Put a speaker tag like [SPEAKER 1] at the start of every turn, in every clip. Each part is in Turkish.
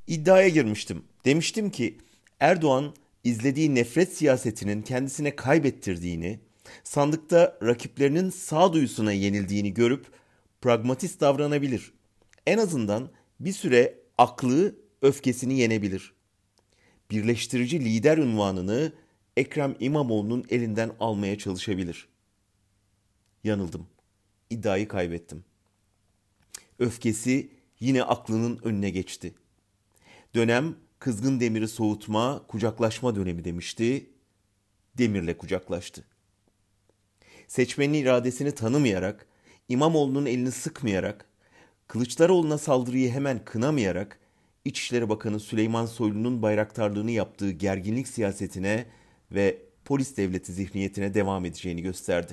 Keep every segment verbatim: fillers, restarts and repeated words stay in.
[SPEAKER 1] İddiaya girmiştim. Demiştim ki Erdoğan izlediği nefret siyasetinin kendisine kaybettirdiğini, sandıkta rakiplerinin sağduyusuna yenildiğini görüp pragmatist davranabilir. En azından bir süre aklı, öfkesini yenebilir. Birleştirici lider unvanını Ekrem İmamoğlu'nun elinden almaya çalışabilir. Yanıldım. İddiayı kaybettim. Öfkesi yine aklının önüne geçti. Dönem kızgın demiri soğutma, kucaklaşma dönemi demişti. Demirle kucaklaştı. Seçmenin iradesini tanımayarak, İmamoğlu'nun elini sıkmayarak, Kılıçdaroğlu'na saldırıyı hemen kınamayarak, İçişleri Bakanı Süleyman Soylu'nun bayraktarlığını yaptığı gerginlik siyasetine ve polis devleti zihniyetine devam edeceğini gösterdi.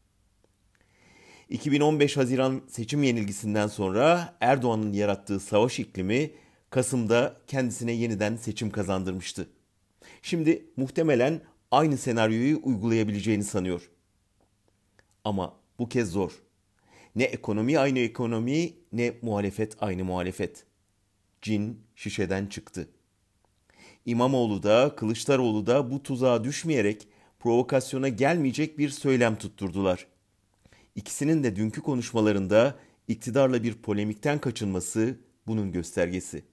[SPEAKER 1] iki bin on beş Haziran seçim yenilgisinden sonra Erdoğan'ın yarattığı savaş iklimi Kasım'da kendisine yeniden seçim kazandırmıştı. Şimdi muhtemelen aynı senaryoyu uygulayabileceğini sanıyor. Ama bu kez zor. Ne ekonomi aynı ekonomi, ne muhalefet aynı muhalefet. Cin şişeden çıktı. İmamoğlu da Kılıçdaroğlu da bu tuzağa düşmeyerek provokasyona gelmeyecek bir söylem tutturdular. İkisinin de dünkü konuşmalarında iktidarla bir polemikten kaçınması bunun göstergesi.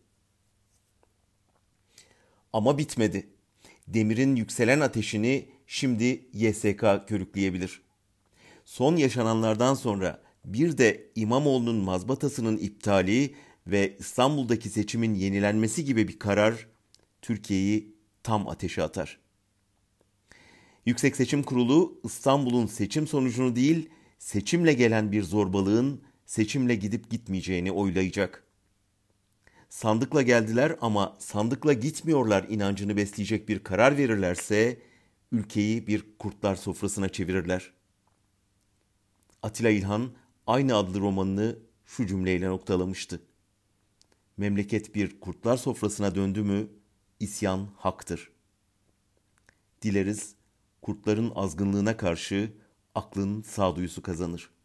[SPEAKER 1] Ama bitmedi. Demirin yükselen ateşini şimdi Y S K körükleyebilir. Son yaşananlardan sonra bir de İmamoğlu'nun mazbatasının iptali ve İstanbul'daki seçimin yenilenmesi gibi bir karar Türkiye'yi tam ateşe atar. Yüksek Seçim Kurulu İstanbul'un seçim sonucunu değil, seçimle gelen bir zorbalığın seçimle gidip gitmeyeceğini oylayacak. Sandıkla geldiler ama sandıkla gitmiyorlar inancını besleyecek bir karar verirlerse ülkeyi bir kurtlar sofrasına çevirirler. Atilla İlhan aynı adlı romanını şu cümleyle noktalamıştı. Memleket bir kurtlar sofrasına döndü mü isyan haktır. Dileriz kurtların azgınlığına karşı aklın sağduyusu kazanır.